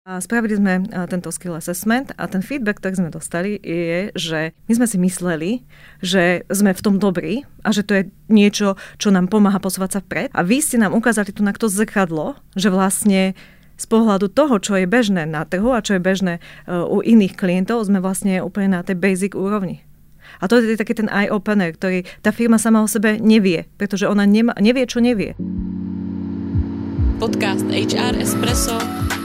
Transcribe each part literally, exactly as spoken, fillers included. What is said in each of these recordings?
Spravili sme tento skill assessment a ten feedback, ktorý sme dostali, je, že my sme si mysleli, že sme v tom dobrí a že to je niečo, čo nám pomáha posúvať sa vpred. A vy ste nám ukázali tu na to zrkadlo, že vlastne z pohľadu toho, čo je bežné na trhu a čo je bežné u iných klientov, sme vlastne úplne na tej basic úrovni. A to je taký ten eye-opener, ktorý tá firma sama o sebe nevie, pretože ona nema, nevie, čo nevie. Podcast há er Espresso.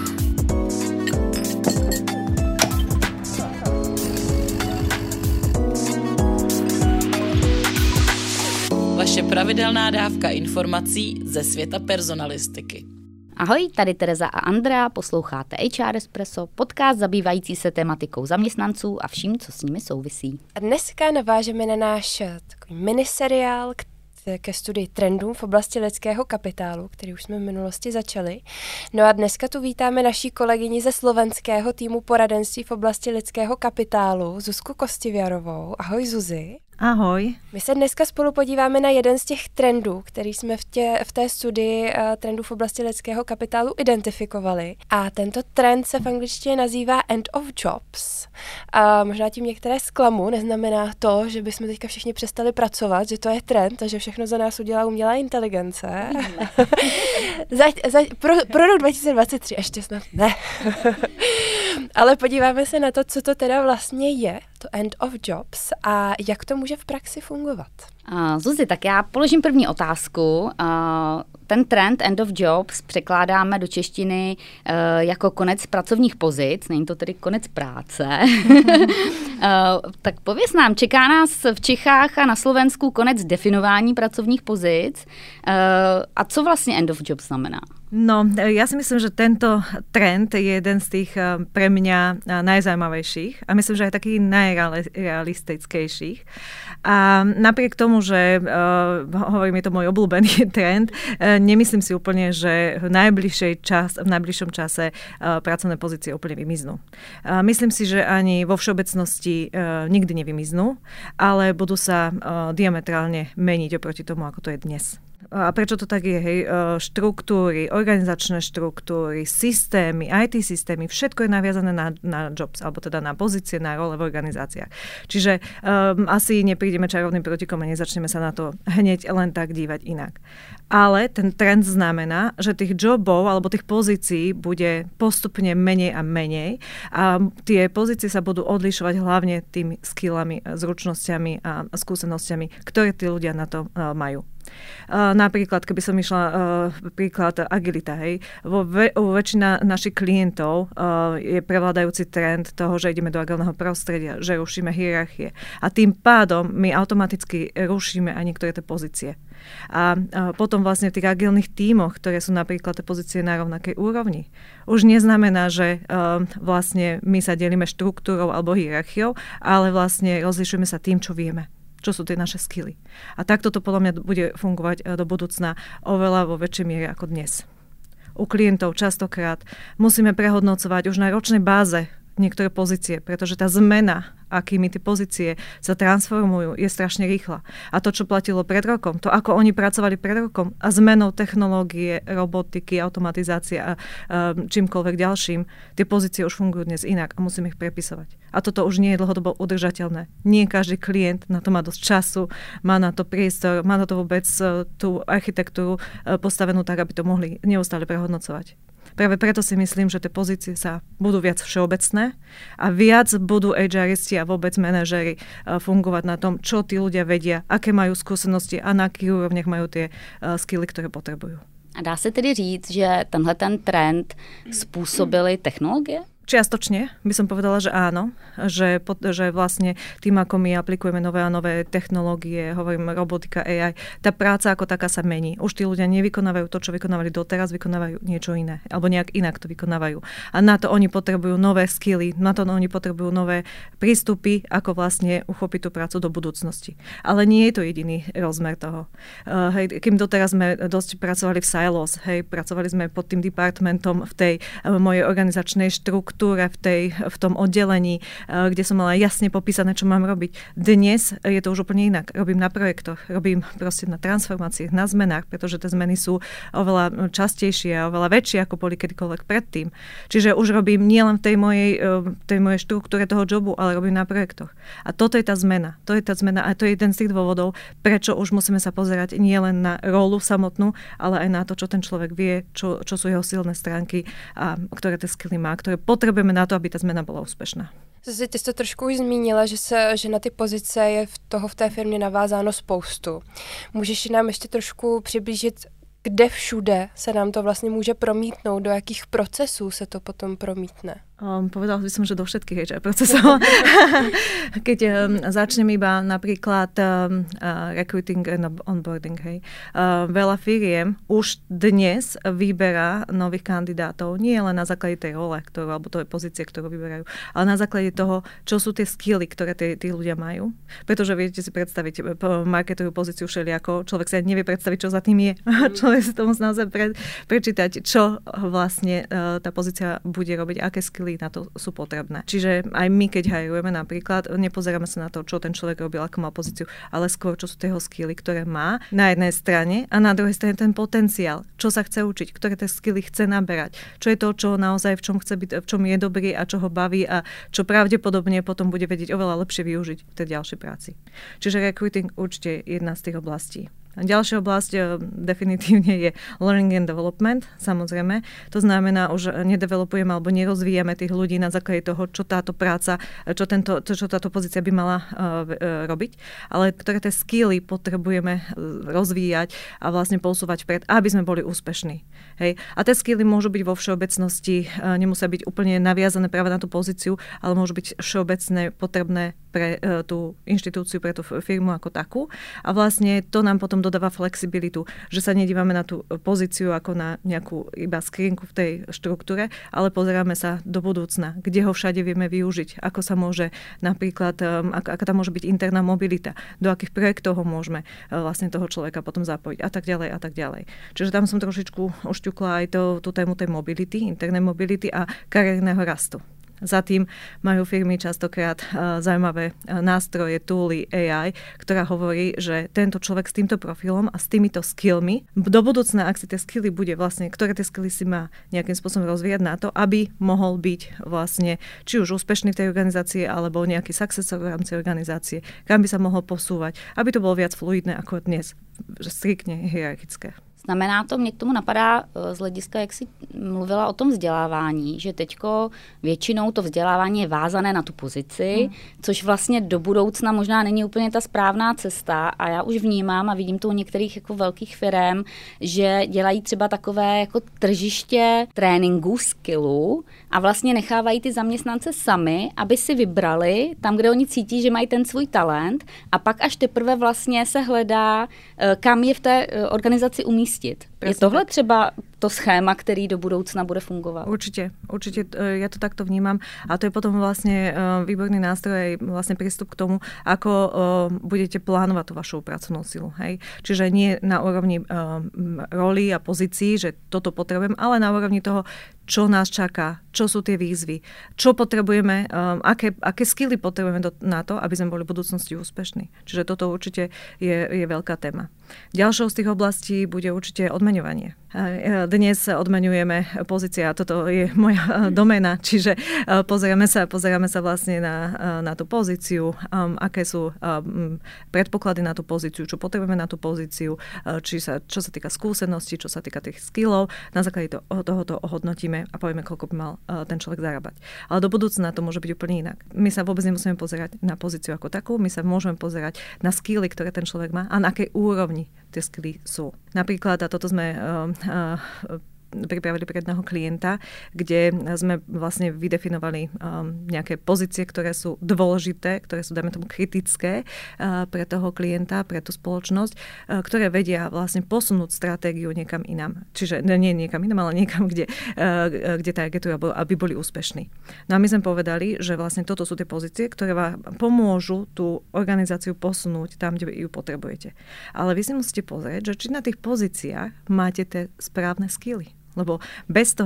Vaše pravidelná dávka informací ze světa personalistiky. Ahoj, tady Tereza a Andrea, posloucháte há er Espresso, podcast zabývající se tematikou zaměstnanců a vším, co s nimi souvisí. A dneska navážeme na náš takový miniseriál ke studii trendů v oblasti lidského kapitálu, který už jsme v minulosti začali. No a dneska tu vítáme naší kolegyni ze slovenského týmu poradenství v oblasti lidského kapitálu, Zuzku Kostiviarovou. Ahoj Zuzi. Ahoj. My se dneska spolu podíváme na jeden z těch trendů, který jsme v, tě, v té studii uh, trendů v oblasti lidského kapitálu identifikovali. A tento trend se v angličtině nazývá end of jobs. A možná tím některé zklamu, neznamená to, že bychom teďka všichni přestali pracovat, že to je trend a že všechno za nás udělá umělá inteligence. za, za, pro, pro rok dva tisíce dvacet tři ještě snad ne. Ale podíváme se na to, co to teda vlastně je, to end of jobs a jak to může v praxi fungovat. Uh, Zuzi, tak já položím první otázku. Uh, ten trend end of jobs překládáme do češtiny uh, jako konec pracovních pozic, není to tedy konec práce. uh, tak pověz nám, čeká nás v Čechách a na Slovensku konec definování pracovních pozic. Uh, a co vlastně end of jobs znamená? No, ja si myslím, že tento trend je jeden z tých pre mňa najzaujímavejších a myslím, že aj takých najrealistickejších. A napriek tomu, že uh, hovorím, je to môj obľúbený trend, uh, nemyslím si úplne, že v, najbližšej čas, v najbližšom čase uh, pracovné pozície úplne vymiznú. Uh, myslím si, že ani vo všeobecnosti uh, nikdy nevymiznú, ale budú sa uh, diametrálne meniť oproti tomu, ako to je dnes. A prečo to tak je? Hej? Štruktúry, organizačné štruktúry, systémy, í té systémy, všetko je naviazané na, na jobs, alebo teda na pozície, na role v organizáciách. Čiže um, asi neprídeme čarovným prútikom a nezačneme sa na to hneď len tak dívať inak. Ale ten trend znamená, že tých jobov alebo tých pozícií bude postupne menej a menej a tie pozície sa budú odlišovať hlavne tými skillami, zručnosťami a skúsenosťami, ktoré tí ľudia na to uh, majú. Uh, napríklad, keby som išla uh, príklad agilita, hej, vo ve, u väčšina našich klientov uh, je prevládajúci trend toho, že ideme do agilného prostredia, že rušíme hierarchie a tým pádom my automaticky rušíme aj niektoré tie pozície. A uh, potom vlastne v tých agilných tímoch, ktoré sú napríklad tie pozície na rovnakej úrovni, už neznamená, že uh, vlastne my sa delíme štruktúrou alebo hierarchiou, ale vlastne rozlišujeme sa tým, čo vieme. Čo sú tie naše skily. A takto to podľa mňa bude fungovať do budúcna oveľa vo väčšej miere ako dnes. U klientov častokrát musíme prehodnocovať už na ročnej báze niektoré pozície, pretože tá zmena, akými tie pozície sa transformujú, je strašne rýchla. A to, čo platilo pred rokom, to, ako oni pracovali pred rokom a zmenou technológie, robotiky, automatizácie a um, čímkoľvek ďalším, tie pozície už fungujú dnes inak a musíme ich prepisovať. A toto už nie je dlhodobo udržateľné. Nie každý klient na to má dosť času, má na to priestor, má na to vôbec uh, tú architektúru uh, postavenú tak, aby to mohli neustále prehodnocovať. Práve preto si myslím, že tie pozície sa budú viac všeobecné a viac budú há eristi a vôbec manažéri fungovať na tom, čo tí ľudia vedia, aké majú skúsenosti a na akých úrovniach majú tie skilly, ktoré potrebujú. A dá se tedy říct, že tenhle ten trend způsobily technologie? Čiastočne by som povedala, že áno, že, že vlastne tým, ako my aplikujeme nové a nové technológie, hovorím robotika, á í, tá práca ako taká sa mení. Už tí ľudia nevykonávajú to, čo vykonávali doteraz, vykonávajú niečo iné, alebo nejak inak to vykonávajú. A na to oni potrebujú nové skilly, na to oni potrebujú nové prístupy, ako vlastne uchopiť tú prácu do budúcnosti. Ale nie je to jediný rozmer toho. Uh, hej, kým doteraz sme dosť pracovali v silos, hej, pracovali sme pod tým departmentom v tej uh, mojej organizačnej štruktúre, štruktúre v, tej, v tom oddelení, kde som mala jasne popísané, čo mám robiť. Dnes je to už úplne inak. Robím na projektoch, robím proste na transformáciách, na zmenách, pretože tie zmeny sú oveľa častejšie a oveľa väčšie, ako boli kedykoľvek predtým. Čiže už robím nielen v tej mojej, tej mojej štruktúre toho jobu, ale robím na projektoch. A toto je tá zmena. To je tá zmena a to je jeden z tých dôvodov, prečo už musíme sa pozerať nielen na rolu samotnú, ale aj na to, čo ten človek vie, čo, čo sú jeho silné stránky a ktoré tie skily má, ktoré potrebujeme na to, aby ta změna byla úspěšná. Zase ty jsi to trošku už zmínila, že, se, že na ty pozice je v toho v té firmě navázáno spoustu. Můžeš nám ještě trošku přiblížit, kde všude se nám to vlastně může promítnout, do jakých procesů se to potom promítne? Um, povedala by som, že do všetkých há er procesov. Keď um, začnem iba napríklad um, uh, recruiting and onboarding, hej. Uh, veľa firiem už dnes vyberá nových kandidátov, nie len na základe tej role, ktorú, alebo tej pozície, ktorú vyberajú, ale na základe toho, čo sú tie skilly, ktoré tí, tí ľudia majú. Pretože viete si predstaviť marketovú pozíciu všelijako, človek sa nevie predstaviť, čo za tým je. Človek si to musí naozaj pre, prečítať, čo vlastne uh, tá pozícia bude robiť, aké skilly na to sú potrebné. Čiže aj my, keď hajrujeme napríklad, nepozeráme sa na to, čo ten človek robil, ako mal pozíciu, ale skôr, čo sú tie jeho skilly, ktoré má na jednej strane a na druhej strane ten potenciál, čo sa chce učiť, ktoré tie skilly chce naberať, čo je to, čo naozaj v čom chce byť, v čom je dobrý a čo ho baví a čo pravdepodobne potom bude vedieť oveľa lepšie využiť v tej ďalšej práci. Čiže recruiting určite je jedna z tých oblastí. A ďalšia oblasť definitívne je learning and development, samozrejme. To znamená, už nedevelopujeme alebo nerozvíjame tých ľudí na základe toho, čo táto práca, čo, tento, čo táto pozícia by mala uh, robiť, ale ktoré tie skilly potrebujeme rozvíjať a vlastne posúvať vpred, aby sme boli úspešní. Hej. A tie skilly môžu byť vo všeobecnosti, uh, nemusia byť úplne naviazané práve na tú pozíciu, ale môžu byť všeobecné, potrebné pre uh, tú inštitúciu, pre tú firmu ako takú. A vlastne to nám potom dodáva flexibilitu, že sa nedívame na tú pozíciu ako na nejakú iba skrinku v tej štruktúre, ale pozeráme sa do budúcna, kde ho všade vieme využiť, ako sa môže napríklad, ak, aká tam môže byť interná mobilita, do akých projektov ho môžeme vlastne toho človeka potom zapojiť a tak ďalej a tak ďalej. Čiže tam som trošičku ušťukla aj to, tú tému tej mobility, internej mobility a kariérneho rastu. Za tým majú firmy častokrát uh, zaujímavé uh, nástroje, tooly, á í, ktorá hovorí, že tento človek s týmto profilom a s týmito skillmi, do budúcna, ak si tie skilly bude vlastne, ktoré tie skilly si má nejakým spôsobom rozvíjať na to, aby mohol byť vlastne či už úspešný v tej organizácii, alebo nejaký successor v rámci organizácie, kam by sa mohol posúvať, aby to bolo viac fluidné ako dnes, striktne hierarchické. Znamená to, mě k tomu napadá z hlediska, jak jsi mluvila o tom vzdělávání, že teďko většinou to vzdělávání je vázané na tu pozici, hmm. což vlastně do budoucna možná není úplně ta správná cesta a já už vnímám a vidím to u některých jako velkých firem, že dělají třeba takové jako tržiště tréninku, skillu a vlastně nechávají ty zaměstnance sami, aby si vybrali tam, kde oni cítí, že mají ten svůj talent a pak až teprve vlastně se hledá, kam je v té organizaci umístit. Je tohle třeba to schéma, který do budoucna bude fungovat? Určite, určite ja to takto vnímam a to je potom vlastne výborný nástroj aj vlastne prístup k tomu, ako budete plánovať tú vašu pracovnú silu. Hej? Čiže nie na úrovni roli a pozícií, že toto potrebujem, ale na úrovni toho, čo nás čaká, čo sú tie výzvy, čo potrebujeme, aké, aké skilly potrebujeme do, na to, aby sme boli v budúcnosti úspešní. Čiže toto určite je, je veľká téma. Ďalšou z tých oblastí bude určite odmeňovanie. Dnes odmeňujeme pozícia, toto je moja doména, čiže pozeráme sa, pozeráme sa vlastne na, na tú pozíciu, aké sú predpoklady na tú pozíciu, čo potrebujeme na tú pozíciu, či sa, čo sa týka skúseností, čo sa týka tých skillov. Na základe toho, tohoto ohodnotíme a povieme, koľko by mal ten človek zarábať. Ale do budúcna to môže byť úplne inak. My sa vôbec nemusíme pozerať na pozíciu ako takú, my sa môžeme pozerať na skilly, ktoré ten človek má a na akej úrovni tie skilly sú. Napríklad, a toto sme uh, uh, pripravili pre jedného klienta, kde sme vlastne vydefinovali um, nejaké pozície, ktoré sú dôležité, ktoré sú, dajme tomu, kritické uh, pre toho klienta, pre tú spoločnosť, uh, ktoré vedia vlastne posunúť stratégiu niekam inám. Čiže nie niekam inám, ale niekam, kde, uh, kde targetujú, aby boli úspešní. No a my sme povedali, že vlastne toto sú tie pozície, ktoré vám pomôžu tú organizáciu posunúť tam, kde ju potrebujete. Ale vy si musíte pozrieť, že či na tých pozíciách máte tie správne skilly. Lebo bez toho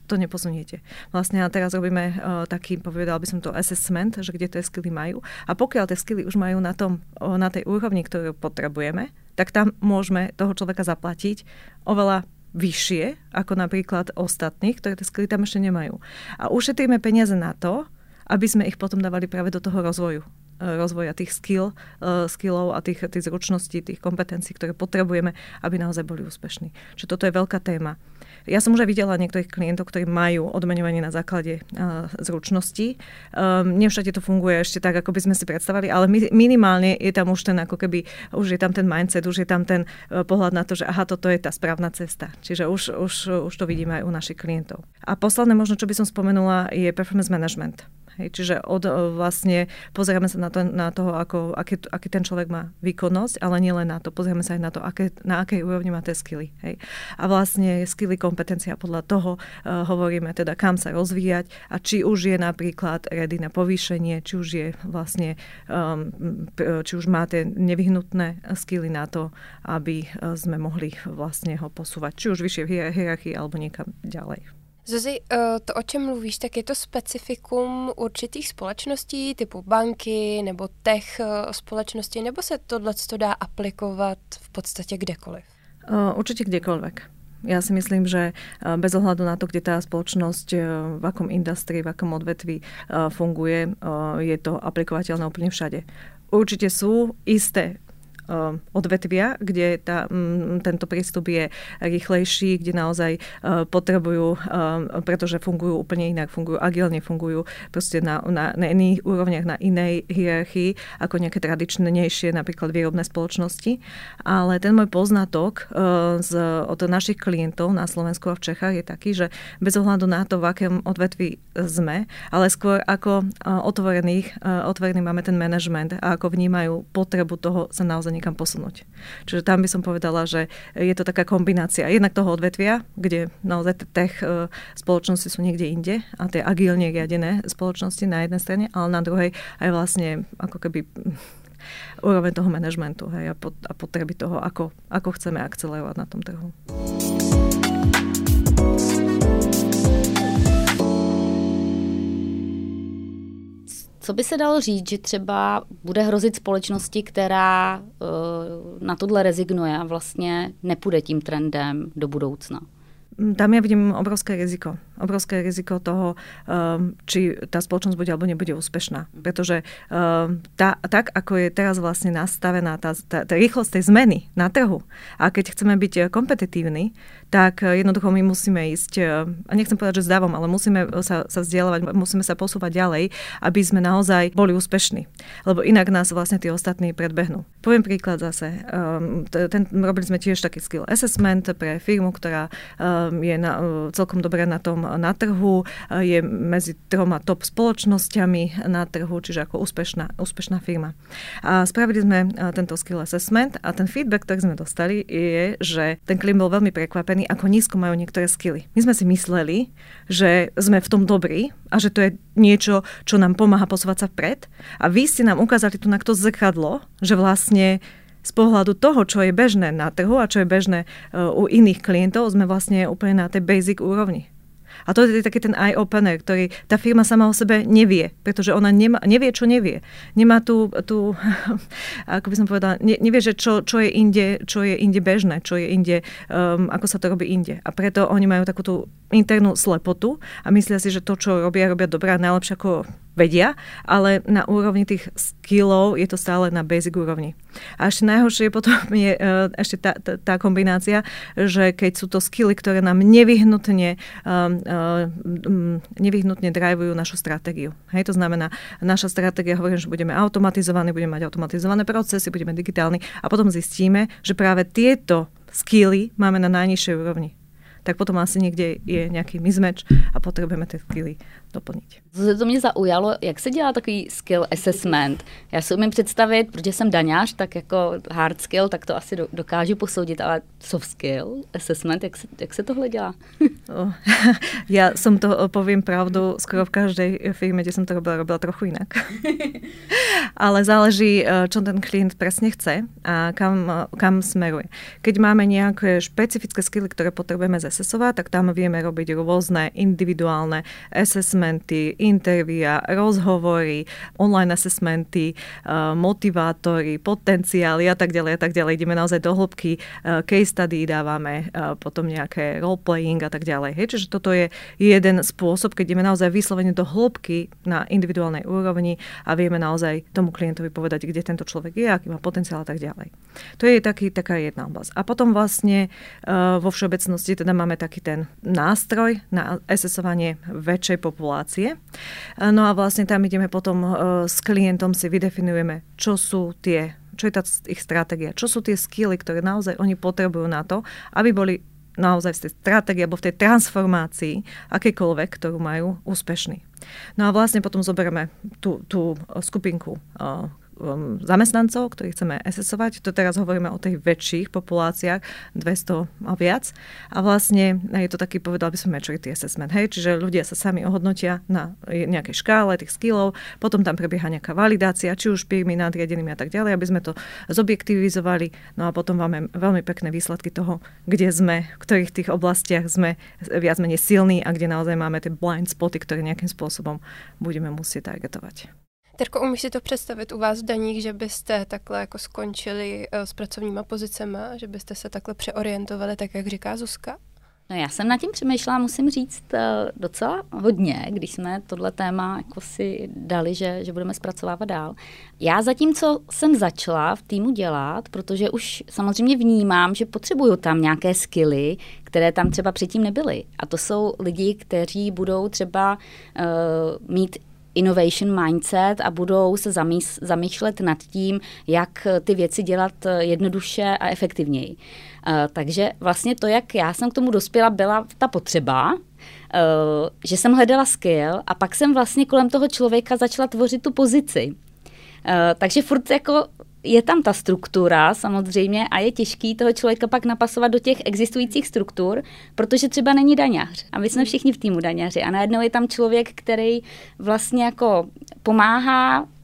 to neposuniete. Vlastne a teraz robíme uh, taký, povedal by som to, assessment, že kde tie skily majú. A pokiaľ tie skily už majú na, tom, uh, na tej úrovni, ktorú potrebujeme, tak tam môžeme toho človeka zaplatiť oveľa vyššie, ako napríklad ostatných, ktoré tie skily tam ešte nemajú. A ušetríme peniaze na to, aby sme ich potom dávali práve do toho rozvoju. rozvoja tých skill, uh, skillov a tých, tých zručností, tých kompetencií, ktoré potrebujeme, aby naozaj boli úspešní. Čiže toto je veľká téma. Ja som už aj videla niektorých klientov, ktorí majú odmeňovanie na základe uh, zručností. Um, nie všade to funguje ešte tak, ako by sme si predstavali, ale mi, minimálne je tam už ten, ako keby, už je tam ten mindset, už je tam ten uh, pohľad na to, že aha, toto je tá správna cesta. Čiže už, už, už to vidíme aj u našich klientov. A posledné možno, čo by som spomenula, je performance management. Hej, čiže od, vlastne pozeráme sa na, to, na toho, ako, aký, aký ten človek má výkonnosť, ale nie len na to, pozeráme sa aj na to, aké, na akej úrovni má tie skily. Hej. A vlastne skily, kompetencia podľa toho uh, hovoríme teda, kam sa rozvíjať a či už je napríklad ready na povýšenie, či už je vlastne, um, či už má tie nevyhnutné skily na to, aby sme mohli vlastne ho posúvať, či už vyššie v hierarchii alebo niekam ďalej. Zuzi, to, o čem mluvíš, tak je to specifikum určitých společností typu banky nebo tech společnosti, nebo se tohleto dá aplikovat v podstatě kdekoliv? Určite kdekoľvek. Ja si myslím, že bez ohľadu na to, kde tá spoločnosť, v akom industrii, v akom odvetví funguje, je to aplikovateľné úplne všade. Určite sú isté odvetvia, kde tá, m, tento prístup je rýchlejší, kde naozaj uh, potrebujú, um, pretože fungujú úplne inak, fungujú agilne, fungujú proste na, na, na iných úrovniach, na inej hierarchii, ako nejaké tradičnejšie, napríklad výrobné spoločnosti. Ale ten môj poznatok uh, z, od našich klientov na Slovensku a v Čechách je taký, že bez ohľadu na to, v akom odvetví sme, ale skôr ako uh, otvorených, uh, otvorený máme ten manažment a ako vnímajú potrebu toho sa naozaj niekam posunúť. Čiže tam by som povedala, že je to taká kombinácia jednak toho odvetvia, kde naozaj tech spoločnosti sú niekde inde a tie agilne riadené spoločnosti na jednej strane, ale na druhej aj vlastne ako keby úroveň toho manažmentu, hej, a potreby toho, ako, ako chceme akcelerovať na tom trhu. Co by se dalo říct, že třeba bude hrozit společnosti, která uh, na tohle rezignuje a vlastně nepůjde tím trendem do budoucna? Tam ja vidím obrovské riziko. Obrovské riziko toho, či tá spoločnosť bude alebo nebude úspešná. Pretože tá, tak, ako je teraz vlastne nastavená tá, tá, tá rýchlosť tej zmeny na trhu, a keď chceme byť kompetitívni, tak jednoducho my musíme ísť, a nechcem povedať, že zdavom, ale musíme sa, sa vzdialovať, musíme sa posúvať ďalej, aby sme naozaj boli úspešní. Lebo inak nás vlastne tí ostatní predbehnú. Poviem príklad zase. Ten, robili sme tiež taký skill assessment pre firmu, ktorá je na, celkom dobré na tom na trhu, je medzi troma top spoločnosťami na trhu, čiže ako úspešná, úspešná firma. A spravili sme tento skill assessment a ten feedback, ktorý sme dostali, je, že ten klient bol veľmi prekvapený, ako nízko majú niektoré skily. My sme si mysleli, že sme v tom dobrí a že to je niečo, čo nám pomáha posúvať sa vpred. A vy ste nám ukázali tu na to zrkadlo, že vlastne z pohľadu toho, čo je bežné na trhu a čo je bežné uh, u iných klientov, sme vlastne úplne na tej basic úrovni. A to je taký ten eye-opener, ktorý tá firma sama o sebe nevie, pretože ona nemá, nevie, čo nevie. Nemá tu, tu ako by som povedala, ne, nevie, že čo, čo, je inde, čo je inde bežné, čo je inde, um, ako sa to robí inde. A preto oni majú takú tú internú slepotu a myslia si, že to, čo robia, robia dobré a najlepšie, ako vedia, ale na úrovni tých skillov je to stále na basic úrovni. A ešte najhoršie potom je uh, ešte tá, tá, tá kombinácia, že keď sú to skilly, ktoré nám nevyhnutne um, um, nevyhnutne drivujú našu stratégiu. Hej, to znamená, naša stratégia hovorí, že budeme automatizovaní, budeme mať automatizované procesy, budeme digitálni a potom zistíme, že práve tieto skilly máme na najnižšej úrovni. Tak potom asi někde je nějaký mismatch a potřebujeme ty skilly doplnit. To mě zaujalo, jak se dělá takový skill assessment. Já si umím představit, protože jsem daňář, tak jako hard skill, tak to asi dokážu posoudit, ale soft skill assessment, jak se, jak se tohle dělá? Já jsem to, povím pravdu, skoro v každej firme, kde jsem to robila, robila trochu jinak. Ale záleží, čo ten klient presne chce a kam, kam smeruje. Keď máme nejaké špecifické skilly, ktoré potrebujeme ze esesovať, tak tam vieme robiť rôzne individuálne assessmenty, intervia, rozhovory, online assessmenty, motivátory, potenciály a tak ďalej a tak ďalej. Ideme naozaj do hĺbky, case study dávame, potom nejaké roleplaying a tak ďalej. Hej, čiže toto je jeden spôsob, keď ideme naozaj vyslovene do hĺbky na individuálnej úrovni a vieme naozaj tomu klientovi povedať, kde tento človek je, aký má potenciál a tak ďalej. To je taký, taká jedna oblasť. A potom vlastne vo všeobecnosti teda máme taký ten nástroj na asesovanie väčšej populácie. No a vlastne tam ideme potom s klientom si vydefinujeme, čo sú tie, čo je tá ich stratégia, čo sú tie skilly, ktoré naozaj oni potrebujú na to, aby boli naozaj v tej stratégii alebo v tej transformácii akékoľvek, ktorú majú, úspešní. No a vlastne potom zoberieme tú, tú skupinku uh, um, zamestnancov, ktorých chceme asesovať. To teraz hovoríme o tých väčších populáciách, dvesto a viac. A vlastne je to taký, povedal by som, maturity assessment. Hej? Čiže ľudia sa sami ohodnotia na nejakej škále tých skillov, potom tam prebieha nejaká validácia, či už firmy, nadriadenými a tak ďalej, aby sme to zobjektivizovali. No a potom máme veľmi pekné výsledky toho, kde sme, v ktorých tých oblastiach sme viac menej silní a kde naozaj máme tie blind spoty, ktoré nejakým spôsobom budeme musieť targetovať. Terko, umíš si to představit u vás v daních, že byste takhle jako skončili s pracovníma pozicema, že byste se takhle přeorientovali, tak jak říká Zuzka? No já jsem nad tím přemýšlela, musím říct, docela hodně, když jsme tohle téma jako si dali, že, že budeme zpracovávat dál. Já zatímco jsem začala v týmu dělat, protože už samozřejmě vnímám, že potřebuju tam nějaké skilly, které tam třeba předtím nebyly. A to jsou lidi, kteří budou třeba uh, mít innovation mindset a budou se zamýš- zamýšlet nad tím, jak ty věci dělat jednoduše a efektivněji. Uh, takže vlastně to, jak já jsem k tomu dospěla, byla ta potřeba, uh, že jsem hledala skill a pak jsem vlastně kolem toho člověka začala tvořit tu pozici. Uh, takže furt jako je tam ta struktura samozřejmě a je těžký toho člověka pak napasovat do těch existujících struktur, protože třeba není daňař. A my jsme všichni v týmu daňaři a najednou je tam člověk, který vlastně jako pomáhá uh,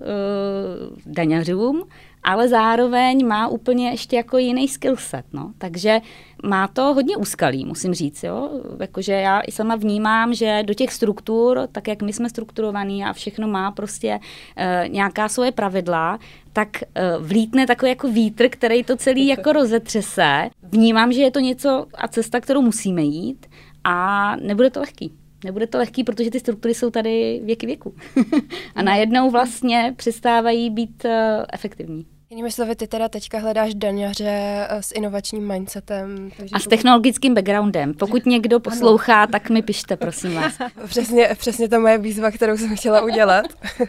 daňařům, ale zároveň má úplně ještě jako jiný skillset, no. Takže má to hodně úskalí, musím říct, jo. Jakože já i sama vnímám, že do těch struktur, tak jak my jsme strukturovaný a všechno má prostě uh, nějaká svoje pravidla, tak uh, vlítne takový jako vítr, který to celý jako rozetřese. Vnímám, že je to něco a cesta, kterou musíme jít a nebude to lehký. Nebude to lehký, protože ty struktury jsou tady věky věku. A najednou vlastně přestávají být uh, efektivní. Jinými slovy, ty teda teďka hledáš daňaře s inovačním mindsetem. A s technologickým backgroundem. Pokud někdo poslouchá, ano. Tak mi pište, prosím vás. Přesně, přesně ta moje výzva, kterou jsem chtěla udělat.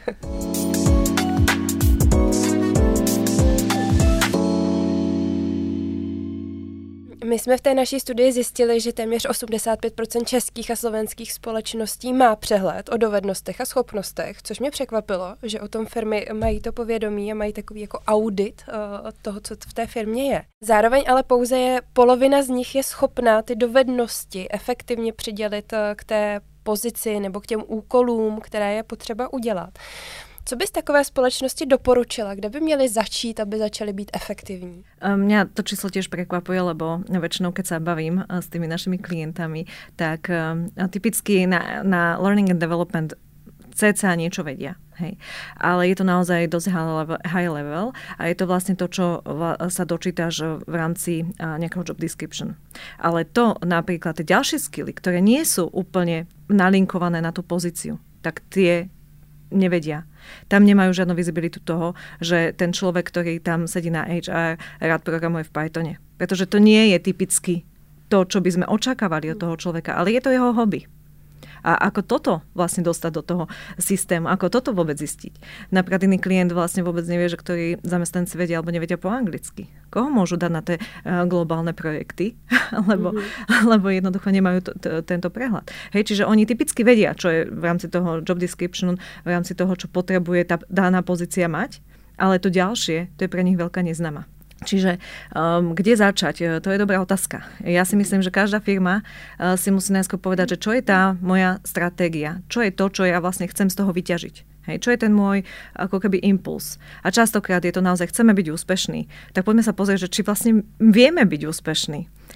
My jsme v té naší studii zjistili, že téměř osmdesát pět procent českých a slovenských společností má přehled o dovednostech a schopnostech, což mě překvapilo, že o tom firmy mají to povědomí a mají takový jako audit uh, toho, co v té firmě je. Zároveň ale pouze je polovina z nich je schopná ty dovednosti efektivně přidělit uh, k té pozici nebo k těm úkolům, které je potřeba udělat. Co bys takové společnosti doporučila, kde by měli začít, aby začali být efektivní? Mňa to číslo tiež prekvapuje, lebo väčšinou, keď sa bavím s tými našimi klientami, tak typicky na, na learning and development cca niečo vedia. Hej. Ale je to naozaj dosť high level a je to vlastne to, čo sa dočítaš v rámci nejakého job description. Ale to napríklad tie ďalšie skilly, ktoré nie sú úplne nalinkované na tú pozíciu, tak tie nevedia. Tam nemajú žiadnu vizibilitu toho, že ten človek, ktorý tam sedí na há er, rád programuje v Pythone. Pretože to nie je typicky to, čo by sme očakávali od toho človeka, ale je to jeho hobby. A ako toto vlastne dostať do toho systému, ako toto vôbec zistiť. Napríklad iný klient vlastne vôbec nevie, že ktorí zamestnanci vedia alebo nevedia po anglicky. Koho môžu dať na tie uh, globálne projekty, lebo, mm-hmm. lebo jednoducho nemajú to, to, tento prehľad. Hej, čiže oni typicky vedia, čo je v rámci toho job description, v rámci toho, čo potrebuje tá daná pozícia mať, ale to ďalšie, to je pre nich veľká neznáma. Čiže um, kde začať? To je dobrá otázka. Ja si myslím, že každá firma uh, si musí najskôr povedať, že čo je tá moja stratégia, čo je to, čo ja vlastne chcem z toho vyťažiť. Hej, čo je ten môj ako keby impuls. A častokrát je to naozaj, chceme byť úspešní. Tak poďme sa pozrieť, že či vlastne vieme byť úspešní.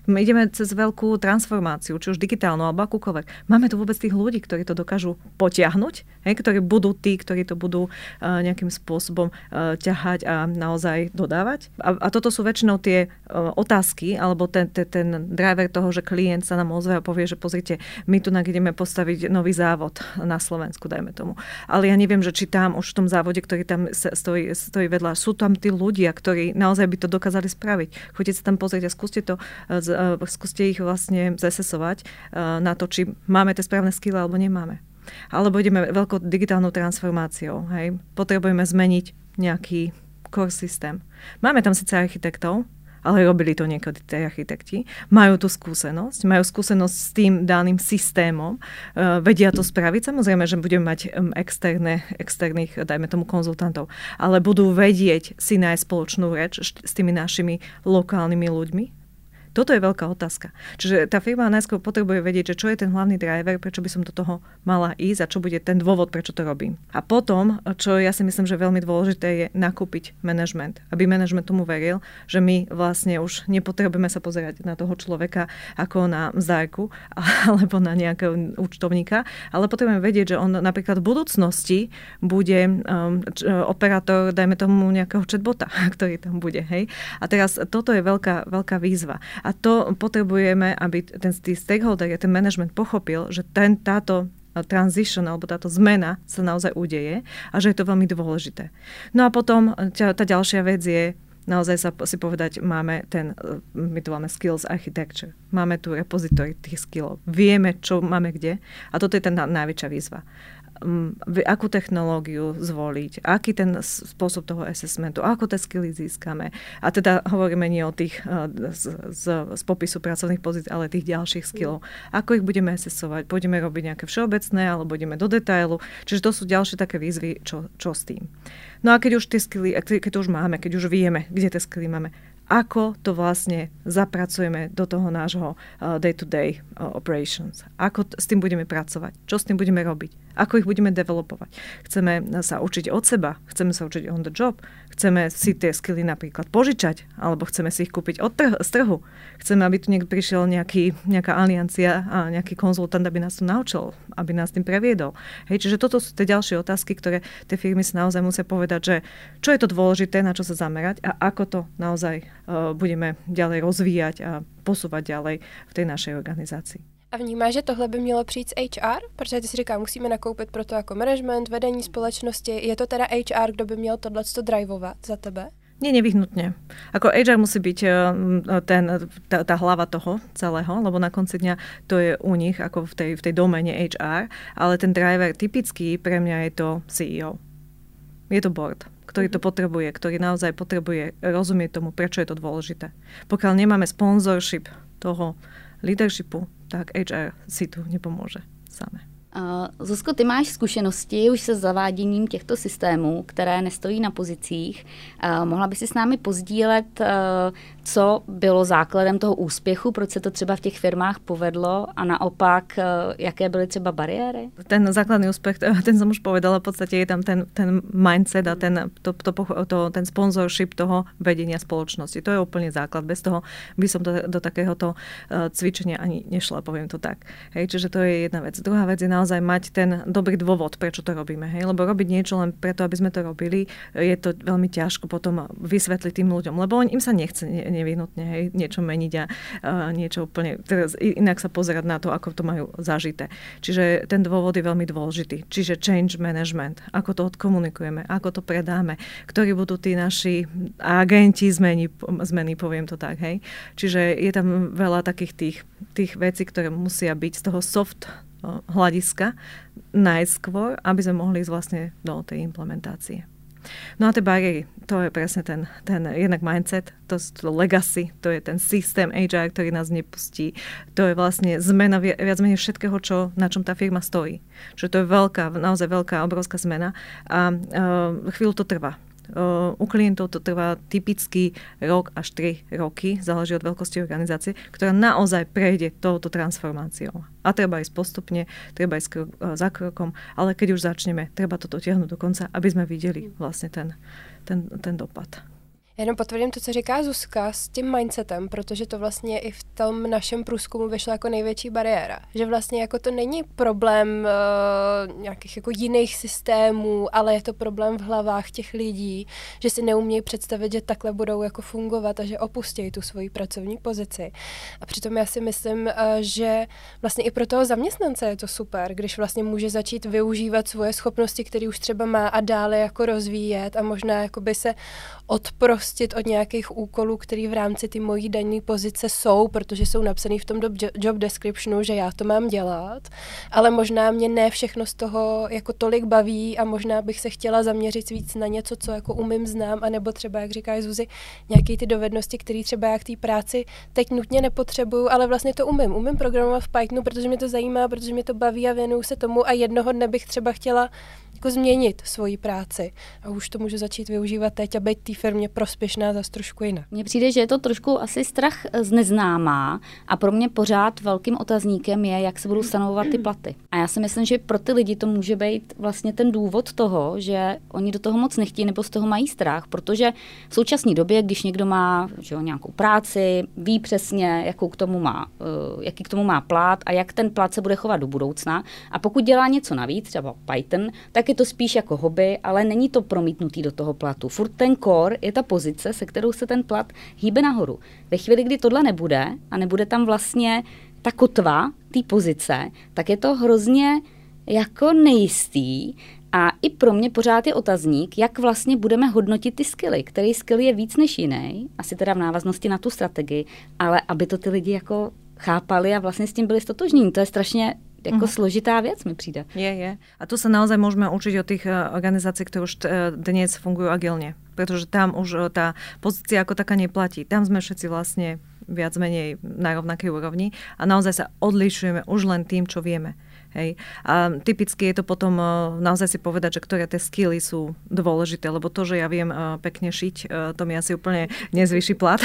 My ideme cez veľkú transformáciu, či už digitálnu alebo akúkoľvek. Máme tu vôbec tých ľudí, ktorí to dokážu potiahnuť, hej, ktorí budú tí, ktorí to budú uh, nejakým spôsobom uh, ťahať a naozaj dodávať. A, a toto sú väčšinou tie uh, otázky, alebo ten, ten, ten driver toho, že klient sa nám ozve a povie, že pozrite, my tu ideme postaviť nový závod na Slovensku, dajme tomu. Ale ja neviem, že či tam už v tom závode, ktorý tam stojí, stojí vedľa, sú tam tí ľudia, ktorí naozaj by to dokázali spraviť. Choďte sa tam pozrieť a skúste to, skúste ich vlastne zesesovať na to, či máme tie správne skille alebo nemáme. Alebo ideme veľkou digitálnou transformáciou. Hej. Potrebujeme zmeniť nejaký core systém. Máme tam síce architektov, ale robili to niekedy tí architekti. Majú tú skúsenosť, majú skúsenosť s tým daným systémom, uh, vedia to spraviť. Samozrejme, že budeme mať um, externé, externých, dajme tomu, konzultantov, ale budú vedieť si nájsť spoločnú reč s tými našimi lokálnymi ľuďmi. Toto je veľká otázka. Čiže tá firma najskôr potrebuje vedieť, že čo je ten hlavný driver, prečo by som do toho mala ísť a čo bude ten dôvod, prečo to robím. A potom, čo ja si myslím, že veľmi dôležité je nakúpiť management. Aby management tomu veril, že my vlastne už nepotrebujeme sa pozerať na toho človeka ako na mzdárku alebo na nejakého účtovníka, ale potrebujeme vedieť, že on napríklad v budúcnosti bude um, operátor, dajme tomu nejakého chatbota, ktorý tam bude. Hej? A teraz toto je veľká, veľká výzva. A to potrebujeme, aby ten stakeholder, ten management pochopil, že ten, táto transition alebo táto zmena sa naozaj udeje a že je to veľmi dôležité. No a potom tá, tá ďalšia vec je naozaj sa si povedať, máme ten, my to máme skills architecture, máme tu repository tých skillov, vieme, čo máme kde a toto je tá najväčšia výzva. Akú technológiu zvoliť, aký ten spôsob toho assessmentu, ako tie skilly získame. A teda hovoríme nie o tých z, z, z popisu pracovných pozícií, ale tých ďalších skillov. Ako ich budeme assessovať? Budeme robiť nejaké všeobecné, alebo budeme do detailu. Čiže to sú ďalšie také výzvy, čo, čo s tým. No a keď už tie skilly, keď to už máme, keď už vieme, kde tie skilly máme, ako to vlastne zapracujeme do toho nášho uh, day-to-day uh, operations. Ako t- s tým budeme pracovať. Čo s tým budeme robiť. Ako ich budeme developovať. Chceme sa učiť od seba. Chceme sa učiť on the job. Chceme si tie skilly napríklad požičať. Alebo chceme si ich kúpiť od trh- z trhu. Chceme, aby tu niekto prišiel nejaký, nejaká aliancia a nejaký konzultant, aby nás to naučil. Aby nás tým previedol. Hej, čiže toto sú tie ďalšie otázky, ktoré tie firmy si naozaj musia povedať, že čo je to dôležité, na čo sa zamerať a ako to naozaj budeme ďalej rozvíjať a posúvať ďalej v tej našej organizácii. A vnímáš, že tohle by mělo přijít z H R? Protože ty si říká, musíme nakoupit pro to jako management, vedení společnosti. Je to teda H R, kdo by měl tohleto drivovat za tebe? Nie, nevyhnutne. Ako H R musí byť ten, tá, tá hlava toho celého, lebo na konci dňa to je u nich ako v tej, v tej doméne H R, ale ten driver typický pre mňa je to C E O. Je to board, ktorý to potrebuje, ktorý naozaj potrebuje rozumieť tomu, prečo je to dôležité. Pokiaľ nemáme sponsorship toho leadershipu, tak H R si tu nepomôže samé. Uh, Zuzko, ty máš zkušenosti už se zaváděním těchto systémů, které nestojí na pozicích. Uh, mohla by si s námi pozdílet, uh, co bylo základem toho úspěchu, proč se to třeba v těch firmách povedlo a naopak, uh, jaké byly třeba bariéry? Ten základný úspech, ten som už povedala, v podstate je tam ten, ten mindset a ten, to, to, to, ten sponsorship toho vedenia spoločnosti. To je úplne základ. Bez toho by som do, do takéhoto uh, cvičenia ani nešla, poviem to tak. Hej, čiže to je jedna vec. Druhá vec je naozaj mať ten dobrý dôvod, prečo to robíme. Hej? Lebo robiť niečo len preto, aby sme to robili, je to veľmi ťažko potom vysvetliť tým ľuďom. Lebo im sa nechce nevyhnutne hej, niečo meniť a uh, niečo úplne teraz inak sa pozerať na to, ako to majú zažité. Čiže ten dôvod je veľmi dôležitý. Čiže change management. Ako to odkomunikujeme, ako to predáme, ktorí budú tí naši agenti zmeny, zmeny poviem to tak. Hej? Čiže je tam veľa takých tých, tých vecí, ktoré musia byť z toho soft hľadiska najskôr, aby sme mohli ísť vlastne do tej implementácie. No a tie bariéry, to je presne ten, ten jednak mindset, to je to legacy, to je ten systém H R, ktorý nás nepustí. To je vlastne zmena viac menej všetkého, čo, na čom tá firma stojí. Čiže to je veľká, naozaj veľká, obrovská zmena a uh, chvíľu to trvá. Uh, u klientov to trvá typicky rok až tri roky, záleží od veľkosti organizácie, ktorá naozaj prejde touto transformáciou. A treba ísť postupne, treba ísť krok, uh, za krokom, ale keď už začneme, treba toto tiahnuť do konca, aby sme videli vlastne ten, ten, ten dopad. Jenom potvrdím to, co říká Zuzka s tím mindsetem, protože to vlastně i v tom našem průzkumu vyšlo jako největší bariéra. Že vlastně jako to není problém uh, nějakých jako jiných systémů, ale je to problém v hlavách těch lidí, že si neumějí představit, že takhle budou jako fungovat a že opustí tu svoji pracovní pozici. A přitom já si myslím, uh, že vlastně i pro toho zaměstnance je to super, když vlastně může začít využívat svoje schopnosti, které už třeba má a dále jako rozvíjet a možná jakoby se odprostit od nějakých úkolů, které v rámci ty mojí dané pozice jsou, protože jsou napsané v tom job descriptionu, že já to mám dělat, ale možná mě ne všechno z toho jako tolik baví a možná bych se chtěla zaměřit víc na něco, co jako umím, znám, anebo třeba, jak říká Zuzi, nějaké ty dovednosti, které třeba já k té práci teď nutně nepotřebuju, ale vlastně to umím. Umím programovat v Pythonu, protože mě to zajímá, protože mě to baví a věnuju se tomu a jednoho dne bych třeba chtěla jako změnit svoji práci. A už to můžu začít využívat teď a být té firmě prospěšná zase trošku jinak. Mně přijde, že je to trošku asi strach z neznámá a pro mě pořád velkým otazníkem je, jak se budou stanovovat ty platy. A já si myslím, že pro ty lidi to může být vlastně ten důvod toho, že oni do toho moc nechtějí nebo z toho mají strach, protože v současné době, když někdo má že jo, nějakou práci, ví přesně, jakou k tomu má, uh, jaký k tomu má plat a jak ten plat se bude chovat do budoucna. A pokud dělá něco navíc, třeba Python, tak je to spíš jako hobby, ale není to promítnutý do toho platu. Furt ten core je ta pozice, se kterou se ten plat hýbe nahoru. Ve chvíli, kdy tohle nebude a nebude tam vlastně ta kotva té pozice, tak je to hrozně jako nejistý a i pro mě pořád je otazník, jak vlastně budeme hodnotit ty skilly, který skill je víc než jiný, asi teda v návaznosti na tu strategii, ale aby to ty lidi jako chápali a vlastně s tím byli stotožní. To je strašně jako uh-huh. složitá věc mi přijde. Je, je. A tu sa naozaj môžeme učiť od tých organizácií, ktoré už dnes fungujú agilne. Pretože tam už tá pozícia ako taká neplatí. Tam sme všetci vlastne viac menej na rovnakej úrovni a naozaj sa odlišujeme už len tým, čo vieme. Hej. A typicky je to potom naozaj si povedať, že ktoré tie skilly sú dôležité, lebo to, že ja viem pekne šiť, to mi asi úplne nezvýši plat.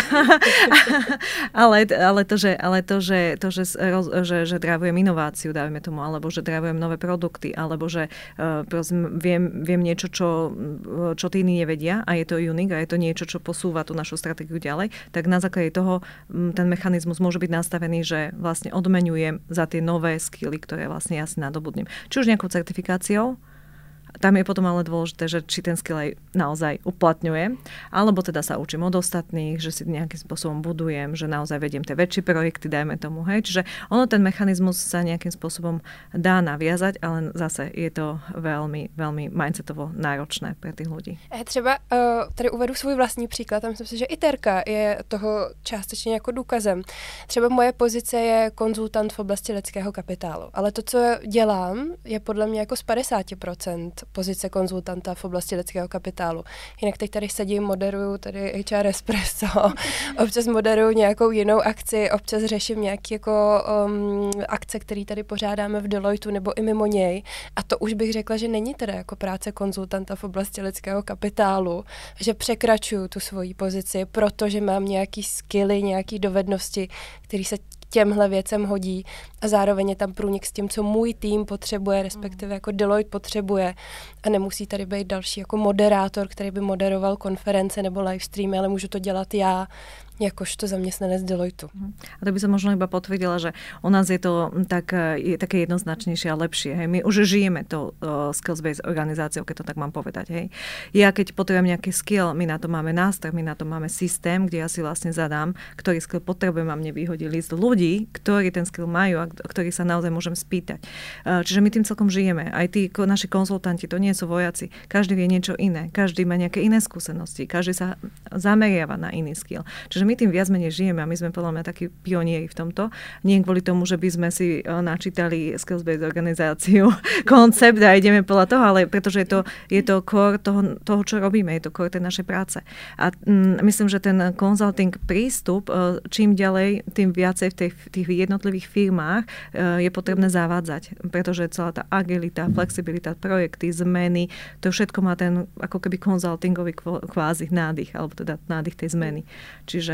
ale, ale to, že, ale to, že, to, že, že, že drivujem inováciu, dajme tomu, alebo že drivujem nové produkty, alebo že prosím, viem, viem niečo, čo, čo tí iní nevedia a je to unique a je to niečo, čo posúva tú našu stratégiu ďalej, tak na základe toho ten mechanizmus môže byť nastavený, že vlastne odmeňujem za tie nové skilly, ktoré vlastne ja si nadobudnem. Či už nejakou certifikáciou, tam je potom ale dôležité, že či ten skill aj naozaj uplatňujem, alebo teda sa učím od ostatných, že si nejakým spôsobom budujem, že naozaj vediem tie väčšie projekty, dajme tomu, hej. Čiže ono ten mechanizmus sa nejakým spôsobom dá naviazať, ale zase je to veľmi, veľmi mindsetovo náročné pre tých ľudí. Třeba uh, tady uvedu svůj vlastní příklad, tam myslím si, že i Terka je toho částečně jako důkazem. Třeba moje pozice je konzultant v oblasti lidského kapitálu, ale to, co dělám, je podle mě jako z padesát procent pozice konzultanta v oblasti lidského kapitálu. Jinak teď tady sedím, moderuju tady H R Espresso, občas moderuju nějakou jinou akci, občas řeším nějaké jako um, akce, které tady pořádáme v Deloitu nebo i mimo něj. A to už bych řekla, že není teda jako práce konzultanta v oblasti lidského kapitálu, že překračuju tu svoji pozici, protože mám nějaký skilly, nějaké dovednosti, které se těmhle věcem hodí a zároveň je tam průnik s tím, co můj tým potřebuje, respektive jako Deloitte potřebuje a nemusí tady být další jako moderátor, který by moderoval konference nebo livestreamy, ale můžu to dělat já, jakožto zaměstnanec Deloitu. A to by som možno iba potvrdila, že u nás je to tak, je také jednoznačnejšie a lepšie. Hej. My už žijeme to uh, skills-based organizáciou, keď to tak mám povedať. Hej. Ja keď potrebujem nejaký skill, my na to máme nástroj, my na to máme systém, kde ja si vlastne zadám, ktorý skill potrebujem a mne vyhodí list ľudí, ktorí ten skill majú a ktorí sa naozaj môžem spýtať. Uh, čiže my tým celkom žijeme. Aj tí naši konzultanti, to nie sú vojaci. Každý vie niečo iné. Každý má nejaké iné skúsenosti. Každý sa zameriava na iný skill. Čiže my tým viac menej žijeme a my sme podľa mňa takí pionieri v tomto. Nie kvôli tomu, že by sme si načítali skills-based organizáciu, koncept a ideme podľa toho, ale pretože je to, je to core toho, toho, čo robíme, je to core tej našej práce. A mm, myslím, že ten consulting prístup, čím ďalej, tým viacej v tých, tých jednotlivých firmách je potrebné zavádzať, pretože celá tá agilita, flexibilita, projekty, zmeny, to všetko má ten ako keby konzultingový kvázi nádych, alebo teda nádych tej zmeny. Čiže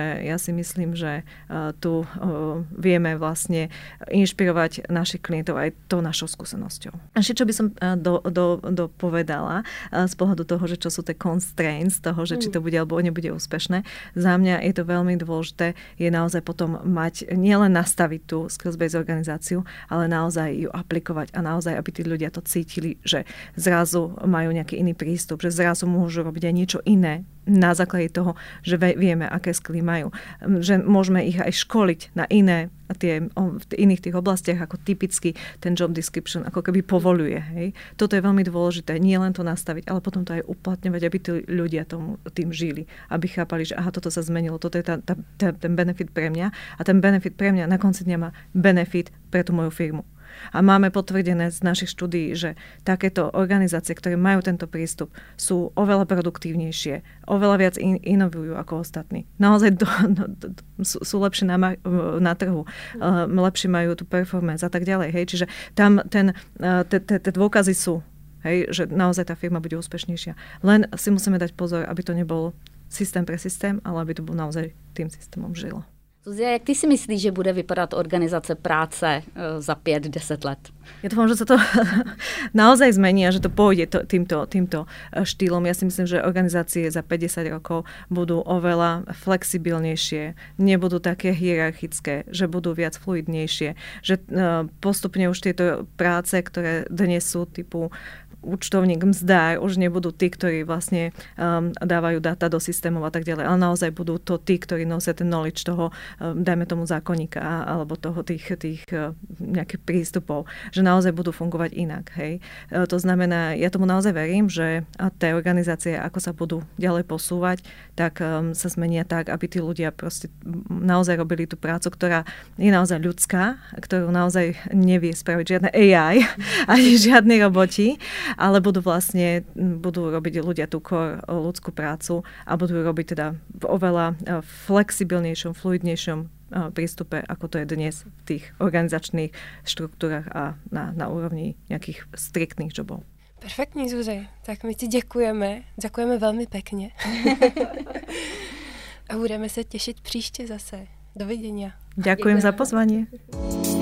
že ja si myslím, že tu vieme vlastne inšpirovať našich klientov aj tou našou skúsenosťou. A ešte, čo by som do, do, dopovedala z pohľadu toho, že čo sú tie constraints toho, že či to bude alebo nebude úspešné, za mňa je to veľmi dôležité, je naozaj potom mať, nielen nastaviť tú skills-based organizáciu, ale naozaj ju aplikovať a naozaj, aby tí ľudia to cítili, že zrazu majú nejaký iný prístup, že zrazu môžu robiť aj niečo iné na základe toho, že vieme, aké skily majú. Že môžeme ich aj školiť na iné, tie, v iných tých oblastiach, ako typicky ten job description, ako keby povoluje. Hej. Toto je veľmi dôležité. Nie len to nastaviť, ale potom to aj uplatňovať, aby tí ľudia tomu, tým žili. Aby chápali, že aha, toto sa zmenilo, toto je tá, tá, tá, ten benefit pre mňa a ten benefit pre mňa na konci dňa má benefit pre tú moju firmu. A máme potvrdené z našich štúdií, že takéto organizácie, ktoré majú tento prístup, sú oveľa produktívnejšie, oveľa viac in, inovujú ako ostatní. Naozaj do, do, do, sú, sú lepšie na, na trhu, uh, lepšie majú tú performance a tak ďalej. Hej. Čiže tam ten, uh, tie dôkazy sú, hej, že naozaj tá firma bude úspešnejšia. Len si musíme dať pozor, aby to nebol systém pre systém, ale aby to bol naozaj tým systémom žilo. Zuzia, jak ty si myslíš, že bude vypadat organizace práce za pět deset let? Ja dúfam, že sa to naozaj zmení a že to pôjde to, týmto, týmto štýlom. Ja si myslím, že organizácie za päťdesiat rokov budú oveľa flexibilnejšie, nebudú také hierarchické, že budú viac fluidnejšie, že postupne už tieto práce, ktoré dnes sú typu účtovník, mzdár, už nebudú tí, ktorí vlastne um, dávajú dáta do systémov a tak ďalej, ale naozaj budú to tí, ktorí nosia ten knowledge toho, um, dajme tomu zákonníka alebo toho tých, tých uh, nejakých prístupov, že naozaj budú fungovať inak. Hej. Uh, to znamená, ja tomu naozaj verím, že tie organizácie, ako sa budú ďalej posúvať, tak um, sa zmenia tak, aby tí ľudia proste naozaj robili tú prácu, ktorá je naozaj ľudská, ktorú naozaj nevie spraviť žiadne á í ani žiadni roboti, ale budú vlastne, budú robiť ľudia tú core ľudskú prácu a budú robiť teda v oveľa flexibilnejšom, fluidnejšom prístupe, ako to je dnes v tých organizačných štruktúrach a na, na úrovni nejakých striktných jobov. Perfektní, Zuzi. Tak my ti děkujeme. Děkujeme velmi pekně. A budeme se těšit příště zase. Dovidenia. Ďakujem za pozvanie.